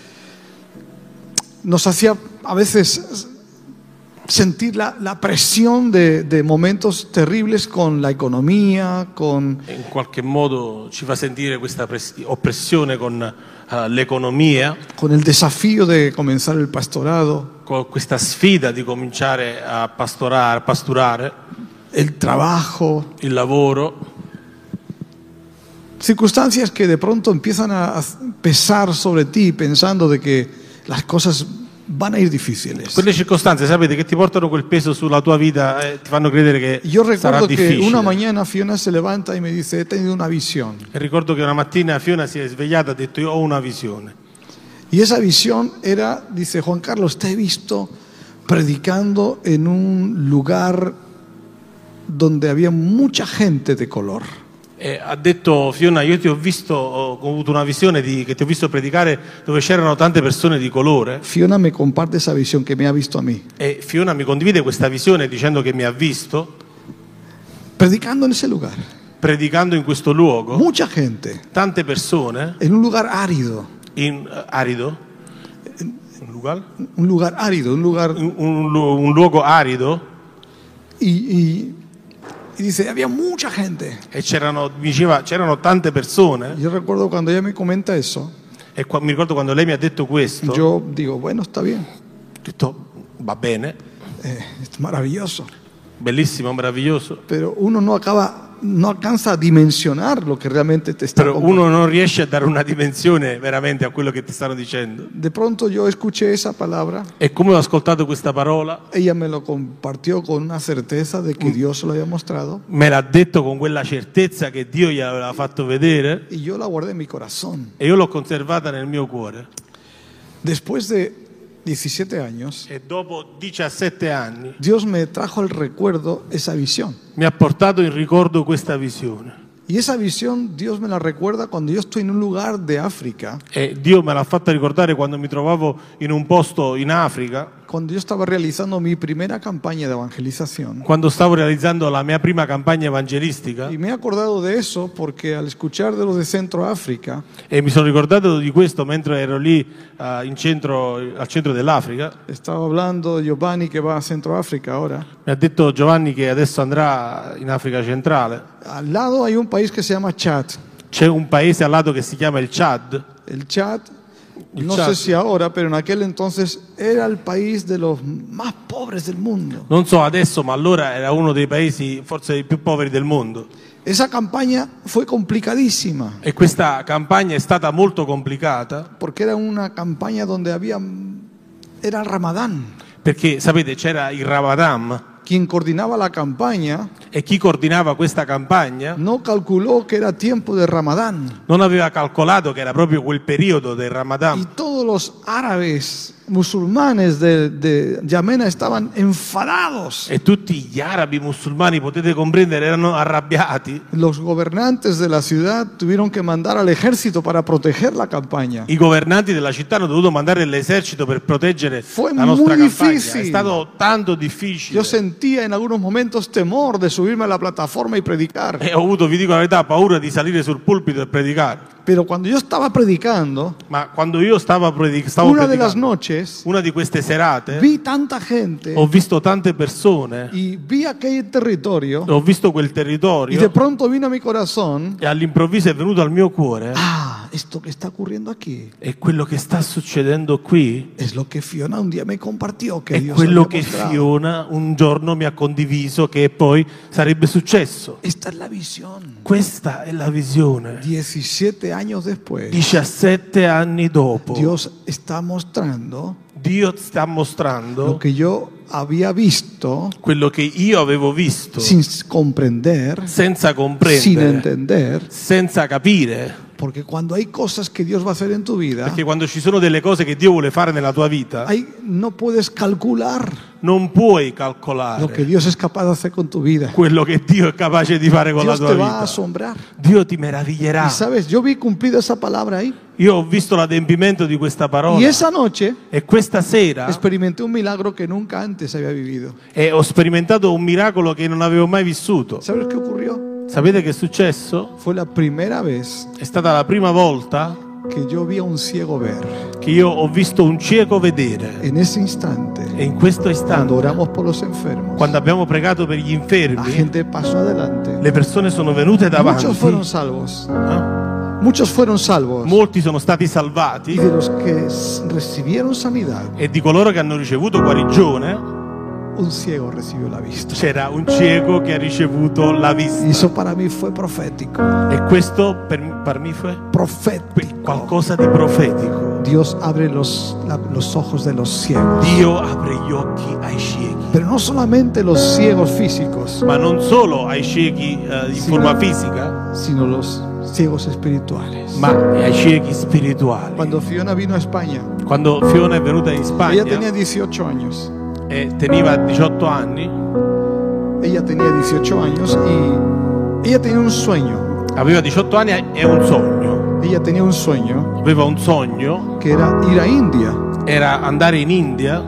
nos hacía a veces sentir la presión de momentos terribles con la economía, con In qualche modo ci fa sentire questa oppressione con l'economia, con el desafío de comenzar el pastorado, con questa sfida di cominciare a pasturare, el trabajo, il lavoro, circunstancias que de pronto empiezan a pesar sobre ti pensando de que las cosas van a ir difíciles. quelle circostanze, sapete, che ti portano quel peso sulla tua vita e ti fanno credere che Yo sarà recuerdo que difficile. una mañana Fiona se levanta y me dice, he tenido una visión. E ricordo che una mattina Fiona si è svegliata e ha detto: io ho una visione. Y esa visión era, dice, Juan Carlos, te he visto predicando en un lugar donde había mucha gente de color. E ha detto: Fiona, io ti ho visto, ho avuto una visione che ti ho visto predicare dove c'erano tante persone di colore. Fiona me comparte esa visión que me ha visto a mí, E Fiona mi condivide questa visione dicendo che mi ha visto predicando en ese lugar. predicando in questo luogo, Mucha gente, tante persone en un lugar árido. in arido, Un lugar árido, un lugar... un luogo arido, Y dice, había mucha gente. e c'erano tante persone. Yo recuerdo cuando ella me comenta eso, E mi ricordo quando lei mi ha detto questo, yo digo, bueno, está bien, ho detto: va bene, es maravilloso. bellissimo, meraviglioso. Pero uno no alcanza a dimensionar lo que realmente te está Però contando. uno non riesce a dare una dimensione veramente a quello che ti stanno dicendo. De pronto yo escuché esa palabra, E come ho ascoltato questa parola, ella me lo compartió con una certeza de que Dios se lo había mostrado me l'ha detto con quella certezza che Dio gli aveva fatto vedere, y yo la guardé en mi corazón. e io l'ho conservata nel mio cuore. Después de 17 años, E dopo 17 anni Dios me trajo al recuerdo esa visión. mi ha portato in ricordo questa visione. Y esa visión Dios me la recuerda cuando yo estoy en un lugar de África, E Dio me l'ha fatta ricordare quando mi trovavo in un posto in Africa, cuando yo estaba realizando mi primera campaña de evangelización. quando stavo realizzando la mia prima campagna evangelistica. Y me he acordado de eso porque al escuchar de los de Centroáfrica, E mi sono ricordato di questo mentre ero lì al centro dell'Africa. estaba hablando Giovanni que va a Centroáfrica ahora. Mi ha detto Giovanni che adesso andrà in Africa centrale. Al lado hay un país que se llama Chad. C'è un paese al lato che si chiama il Chad. El Chad, El no Chad. sé si ahora, pero en aquel entonces era el país de los más pobres del mundo. Non so adesso, ma allora era uno dei paesi forse i più poveri del mondo. Esa campaña fue complicadísima E questa campagna è stata molto complicata porque era una campaña donde era el Ramadán. perché, sapete, c'era il Ramadan Quien coordinaba la campaña e chi coordinava questa campagna no calculó que era tiempo de Ramadán. non aveva calcolato che era proprio quel periodo del Y Ramadan. todos los árabes musulmanes de Yamena estaban enfadados. E tutti gli arabi musulmani, potete comprendere, erano arrabbiati. Los gobernantes de la ciudad tuvieron que mandar al ejército para proteger la campaña. I governanti della città hanno dovuto mandare l'esercito per proteggere Fue la nostra muy campagna. difícil. È stato tanto difficile. Yo sentía en algunos momentos temor de subirme a la plataforma y predicar. E ho avuto, vi dico la verità, paura di salire sul pulpito e predicare. Pero cuando yo estaba predicando, Ma quando io stavo una de las predicando, noches, una di queste serate, vi tanta gente ho visto tante persone, y vi aquel territorio ho visto quel y de territorio pronto vino a mi corazón, e all'improvviso è venuto al mio cuore esto que está ocurriendo aquí e quello che sta succedendo qui es lo que Fiona un día me compartió que è Dios quello había che mostrado. Fiona un giorno mi ha condiviso che poi sarebbe successo. Esta es la visión. Questa è la visione. 17 años después, 17 anni dopo, Dios está mostrando Dio sta lo mostrando que yo había visto quello che io avevo visto sin comprender, senza sin comprendere, entender, senza capire. porque cuando hay cosas que Dios va a hacer en tu vida, Perché quando ci sono delle cose che Dio vuole fare nella tua vita, no puedes calcular non puoi lo que calcolare Dios es capaz de hacer con tu vida. quello che Dio è capace di fare con la Dios tua te va a vita. asombrar. Dio ti meraviglierà. Y sabes, yo vi cumplida esa palabra ahí. Io ho visto l'adempimento di questa parola Y esa noche e questa sera experimenté un milagro que nunca antes había vivido. ho sperimentato un miracolo che non avevo mai vissuto. ¿Sabes qué ocurrió? Sapete che è successo? Fue la primera vez È stata la prima volta que yo vi a un ciego ver. che io ho visto un cieco vedere. En ese instante, E in questo cuando istante, oramos por los enfermos, quando abbiamo pregato per gli la infermi, gente pasó adelante. le persone sono venute Muchos fueron davanti. salvos. Eh? Muchos fueron salvos. Molti sono stati Y salvati de los que recibieron sanidad, e di coloro che hanno ricevuto guarigione un ciego recibió la vista. c'era un cieco che ha ricevuto la Y vista. eso para mí fue profético. E questo per me fu Profético. qualcosa di profetico. Dios abre los ojos de los ciegos. Dio apre gli occhi ai ciechi, Pero no solamente los ciegos físicos, ma non solo ai ciechi in Sì. forma fisica, sino los ciegos espirituales. ma ai ciechi spirituali. Cuando Fiona vino a España, Quando Fiona è venuta in ella Spagna tenía 18 años. e teneva 18 anni, Ella tenía 18 años y ella tenía un sueño. aveva 18 anni e un sogno. Ella tenía un sueño Aveva un sogno, que era ir a India. era andare in India.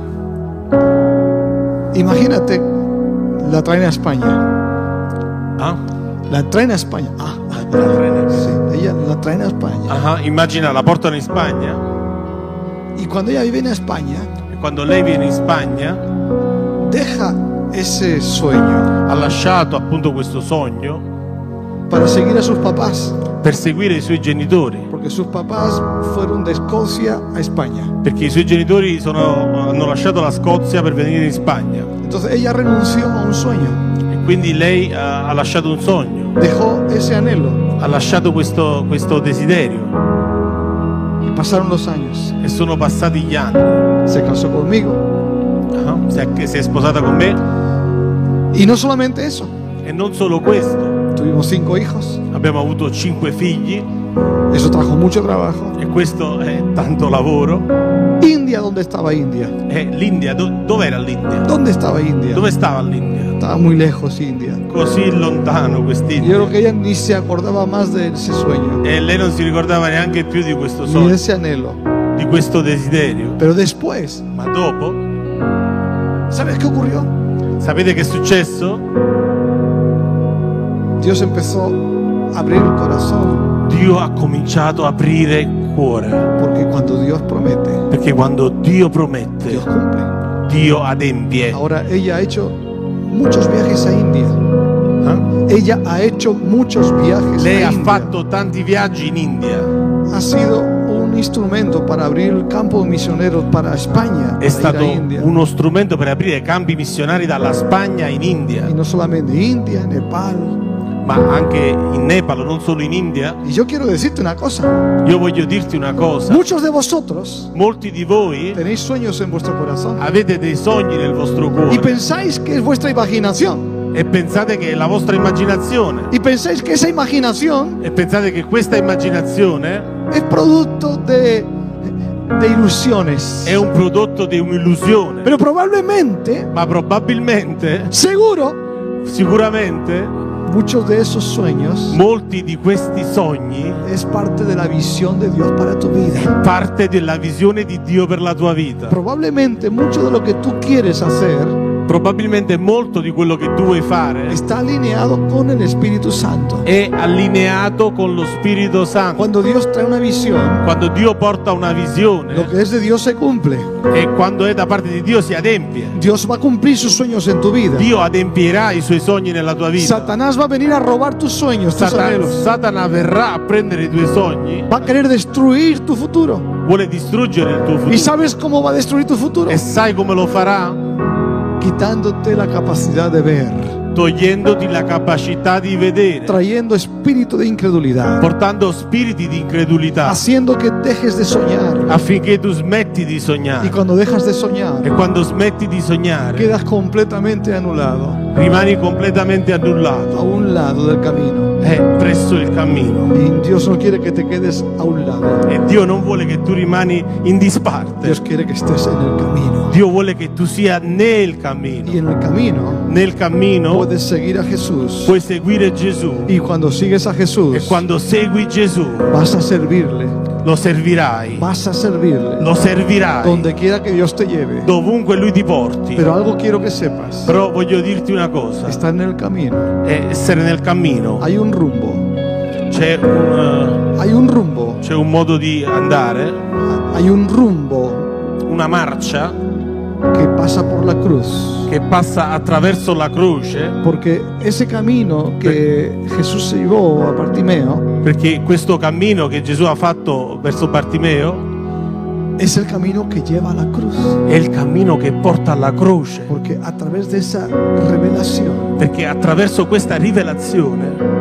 Imagínate, la traen a España. Ah? La traen a España. Sí, ella la traen a España. Ah, immagina, la portano in Spagna Y cuando ella viene a España, e quando lei viene in Spagna deja ese sueño ha lasciato appunto questo sogno para seguir a sus papás. per seguire i suoi genitori, Porque sus papás fueron de Escocia a España. perché i suoi genitori hanno lasciato la Scozia per venire in Spagna Entonces ella renunció a un sueño. e quindi lei ha lasciato un sogno, Dejó ese anhelo. ha lasciato questo desiderio Y pasaron los años. e sono passati gli anni. Se casó conmigo. Ah, si è sposata con me Y no solamente eso. e non solo questo, Tuvimos 5 hijos. abbiamo avuto 5 figli Eso trajo mucho trabajo. e questo è tanto lavoro. India, ¿dónde estaba India? E l'India, dov'era l'India? ¿Dónde estaba India? Dove stava l'India? Estaba muy lejos India. Così lontano Yo quest'India. creo que ella ni se acordaba más de ese sueño, E lei non si ricordava neanche più di questo ni de sogno, ese anhelo. di questo desiderio. Pero después, Ma dopo, ¿sabes qué ocurrió? sapete che è successo? Dios empezó a abrir el corazón, Dio ha cominciato a aprire il cuore, porque cuando Dios promete, perché quando Dio promette, Dios cumple. Dio adempie. Ahora ella ha hecho muchos viajes a India. Eh? Ella ha hecho muchos viajes Lei a ha India. fatto tanti viaggi in India, Ha sido un instrumento para abrir el campo misionero para España, è para ir a stato India. uno strumento per aprire campi missionari dalla Spagna in India, Y no solamente India, Nepal. ma anche in Nepal, non solo in India. Y yo quiero decirte una cosa. Io voglio dirti una cosa, Muchos de vosotros molti di voi tenéis sueños en vuestro corazón avete dei sogni nel vostro y cuore pensáis que es vuestra imaginación. e pensate che è la vostra immaginazione Y pensáis que esa imaginación e pensate che questa immaginazione es producto de ilusiones. è un prodotto di un'illusione. Pero probablemente, Ma probabilmente, seguro, sicuramente, muchos de esos sueños molti di questi sogni es parte de la visión de Dios para tu vida. parte della visione di Dio per la tua vita. Probablemente mucho de lo que tú quieres hacer Probabilmente molto di quello che tu vuoi fare está alineado con el Espíritu Santo. è allineato con lo Spirito Santo. Cuando Dios trae una visión, Quando Dio porta una lo visione que es de Dios se cumple. e quando è da parte di Dio si adempie. Dios va a cumplir sus sueños en tu vida. Dio adempierà i suoi sogni nella tua vita. Satanás va a venir a robar tus sueños, tus anhelos. Satana verrà a prendere i tuoi sogni, Va a querer destruir tu futuro. vuole distruggere il tuo ¿Y futuro. sabes cómo va a destruir tu futuro? E sai come lo farà? Quitándote la capacidad de ver, Togliendoti la capacità di vedere, trayendo espíritu de incredulidad, portando spiriti di incredulità haciendo que dejes de soñar. affinché tu smetti di Y sognare. cuando dejas de soñar, E quando smetti di sognare, quedas completamente anulado rimani completamente a annullato un lado del camino. presso il cammino. Y Dios no quiere que te quedes a un lado. E Dio non vuole che tu rimani in disparte. Dios quiere que estés en el camino. Dio vuole che tu sia nel Y cammino. en el camino Nel cammino puedes seguir a Jesús. puoi seguire Gesù. Y cuando sigues a E Jesús, quando segui Gesù, vas a servirle. lo servirai. Vas a servirle. Lo servirai Donde quiera que Dios te lleve. dovunque Lui ti porti. Pero algo quiero que sepas. Però voglio dirti una cosa: Está en el camino. essere nel cammino Hay un rumbo. c'è Hay un rumbo. un modo di andare, Hay un rumbo una marcia que pasa por la cruz. che passa attraverso la croce, Porque ese camino que Jesús se llevó a Bartimeo perché questo cammino che Gesù ha fatto verso Bartimeo es el camino que lleva a la cruz. è il cammino che porta alla croce, Porque a través de esa revelación, perché attraverso questa rivelazione,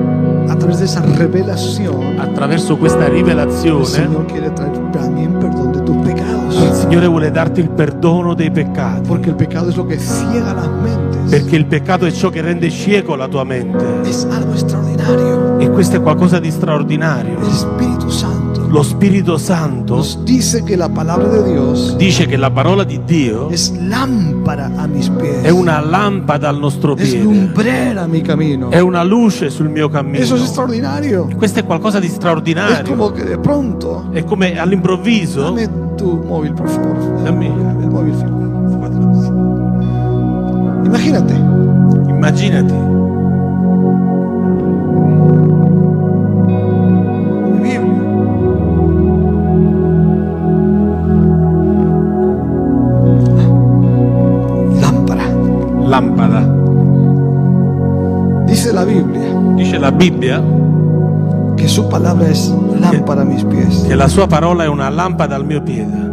attraverso questa el rivelazione, Señor quiere traer también perdón de tus pecados. il Signore vuole darti il perdono dei peccati, Porque el pecado es lo que ciega las mentes. perché il peccato è ciò che rende cieco la tua mente. Es algo extraordinario. E questo è qualcosa di straordinario. El Espíritu Santo Lo Spirito Santo nos dice que la palabra de Dios dice che la parola di Dio es lámpara a mis pies. è una lampada al nostro Es piede, lumbrera a mi camino. è una luce sul mio cammino. Eso es extraordinario. Questo è qualcosa di Es straordinario. como que de pronto, È come all'improvviso. dame tu móvil, por favor. Dammi. El móvil. Imagínate, Immaginati, mi Biblia. Lámpara. lampada. Dice la Biblia Dice la Bibbia que su palabra es lámpara a mis pies. che la sua parola è una lampada al mio piede.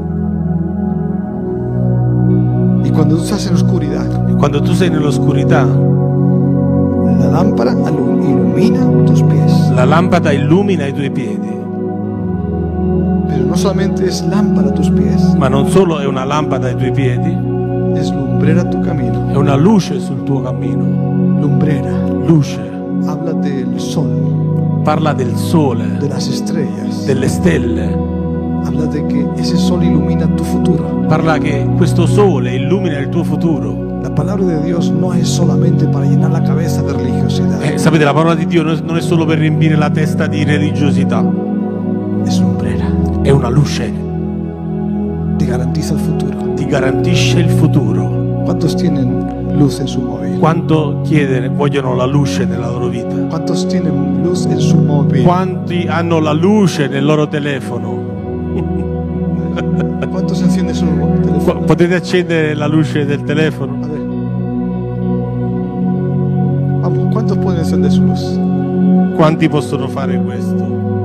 Y cuando tú estás en oscuridad, E quando tu sei nell'oscurità, la lámpara ilumina tus pies. la lampada illumina i tuoi piedi. Pero no solamente es lámpara a tus pies, Ma non solo è una lampada ai tuoi piedi, es lumbrera tu camino. è una luce sul tuo cammino. Lumbrera. Luce. Habla del sol, Parla del sole, de las estrellas. delle stelle. Habla de que ese sol ilumina tu futuro. Parla che questo sole illumina il tuo futuro. La palabra de Dios no es solamente para llenar la cabeza de religiosidad. Sapete, la parola di Dio non è solo per riempire la testa di religiosità, Es lumbrera. è una luce, Te garantiza el futuro. ti garantisce il futuro. ¿Cuántos tienen luz en su móvil? Quanto vogliono la luce nella loro vita? ¿Cuántos tienen luz en su móvil? Quanti hanno la luce nel loro telefono? ¿Cuántos encienden su teléfono? Potete accendere la luce del telefono? A ver. Vamos, ¿cuántos pueden encender su luz? Quanti possono fare questo?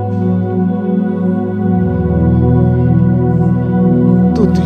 Tutti.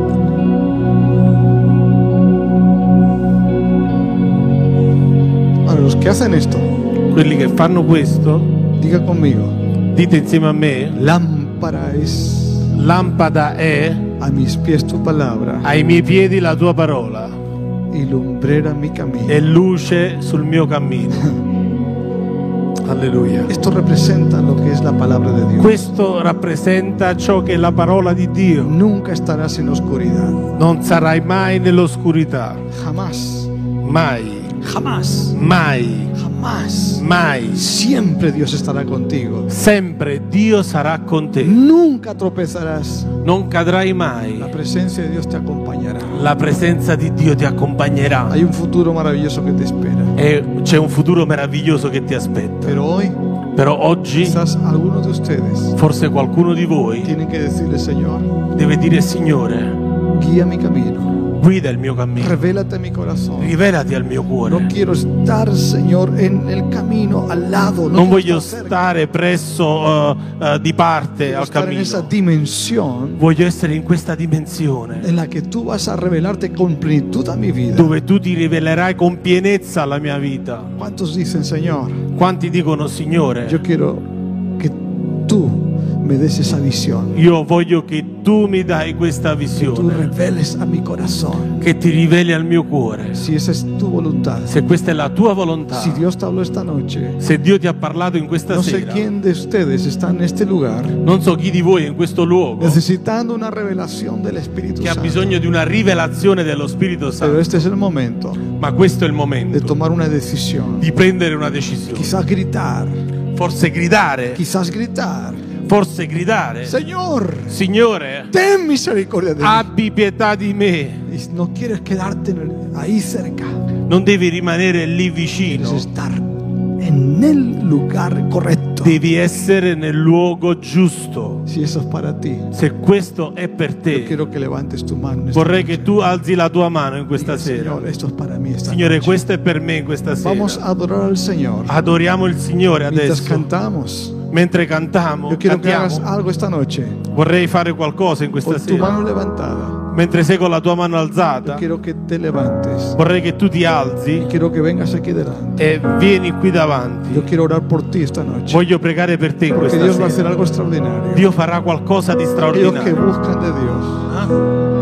Ahora, los que hacen esto, Quelli che fanno questo, diga conmigo, dite insieme a me, lámpara es lampada è a mis pies tu palabra ai miei piedi la tua parola y lumbrera mi camino. e luce sul mio cammino. Alleluia. Esto representa lo que es la palabra de Dios. Questo rappresenta ciò che è la parola di Dio. Nunca estarás en oscuridad. Non sarai mai nell'oscurità. Jamás. Mai. Jamás. Mai. Jamás. Mai. Siempre Dios estará contigo. Sempre Dio sarà con te. Nunca tropezarás. Non cadrai mai. La presencia de Dios te acompañará. La presenza di Dio ti accompagnerà. Hay un futuro maravilloso que te espera. E c'è un futuro meraviglioso che ti aspetta. Pero hoy, Però oggi, quizás algunos de ustedes forse qualcuno di voi tienen que decirle, Señor, deve dire: Signore, guía mi camino. guida il mio cammino. Revélate mi corazón. Rivelati al mio No cuore. quiero estar, Señor, en el camino al lado. Non quiero voglio estar cerca. stare presso di parte Quiero al estar en esa cammino. dimensión Voglio essere in questa dimensione en la que tú vas a revelarte con plenitud a mi vida. dove tu ti rivelerai con pienezza alla mia vita. ¿Cuántos dicen, Señor, Quanti dicono: Signore, yo quiero que tú me des esa visión? io voglio che tu mi dai questa Tú visione, reveles a mi corazón. che ti riveli al mio cuore. Si esa es tu voluntad. Se questa è la tua volontà, Si Dios te habló esta noche, se Dio ti ha parlato in questa no sé sera, quién de ustedes está en este lugar non so chi di voi è in questo luogo necesitando una revelación del Espíritu che ha Santo. bisogno di una rivelazione dello Spirito Pero Santo, este es el momento ma questo è il de momento tomar una decisión. di prendere una decisione. Quizás gritar, Forse gridare, forse gridare: Señor, Signore, ten misericordia de mí. abbi pietà di me. Y no quieres quedarte ahí cerca, Non devi rimanere lì quieres vicino, estar en el lugar correcto. devi essere nel luogo giusto. Si eso es para ti, Se questo è per yo te, quiero que levantes tu mano. en esta vorrei noche. che tu alzi la tua mano in questa Diga, sera. Señor, esto es para mí esta Signore, noche. questo è per me in questa Vamos sera. a adorar al Señor. Adoriamo il Signore Mientras adesso. cantamos, Mentre cantiamo, yo quiero que hagas cantiamo, algo esta noche vorrei fare qualcosa in questa con tu mano sera. levantada. Mentre sei con la tua mano Yo alzata, quiero que te levantes. vorrei che tu ti alzi Quiero que vengas aquí delante. e vieni qui davanti. Yo quiero orar por ti esta noche. Voglio pregare per te in Porque questa Dios va a hacer sera. algo extraordinario. Dio farà qualcosa di Aquellos que straordinario. buscan de Dios,